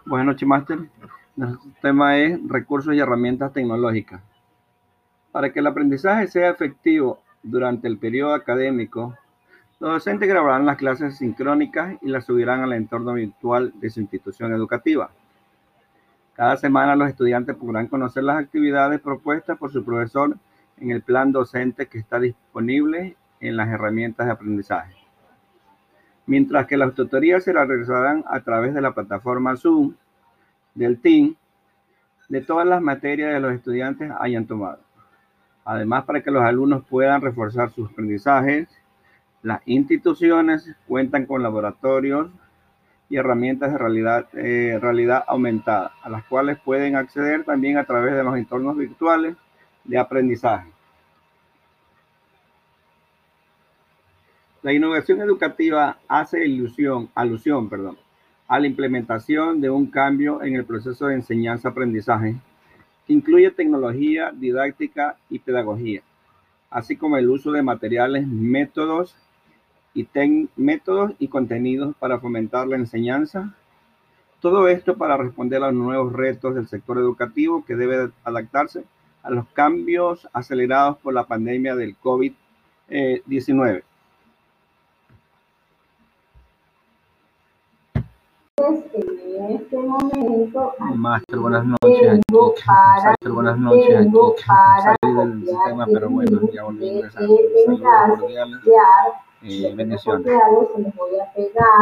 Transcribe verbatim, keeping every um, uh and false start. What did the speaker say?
Buenas noches, máster. Nuestro tema es recursos y herramientas tecnológicas. Para que el aprendizaje sea efectivo durante el periodo académico, los docentes grabarán las clases sincrónicas y las subirán al entorno virtual de su institución educativa. Cada semana los estudiantes podrán conocer las actividades propuestas por su profesor en el plan docente que está disponible en las herramientas de aprendizaje. Mientras que las tutorías se realizarán a través de la plataforma Zoom del T I M de todas las materias que los estudiantes hayan tomado. Además, para que los alumnos puedan reforzar sus aprendizajes, las instituciones cuentan con laboratorios y herramientas de realidad, eh, realidad aumentada, a las cuales pueden acceder también a través de los entornos virtuales de aprendizaje. La innovación educativa hace ilusión, alusión perdón, a la implementación de un cambio en el proceso de enseñanza-aprendizaje que incluye tecnología, didáctica y pedagogía, así como el uso de materiales, métodos y, métodos y contenidos para fomentar la enseñanza. Todo esto para responder a los nuevos retos del sector educativo que debe adaptarse a los cambios acelerados por la pandemia del COVID diecinueve. En este momento, Máster, buenas noches aquí. Máster, buenas noches aquí. Salí del sistema, pero bueno, ya volví a ingresar. Saludos cordiales. Eh, bendiciones.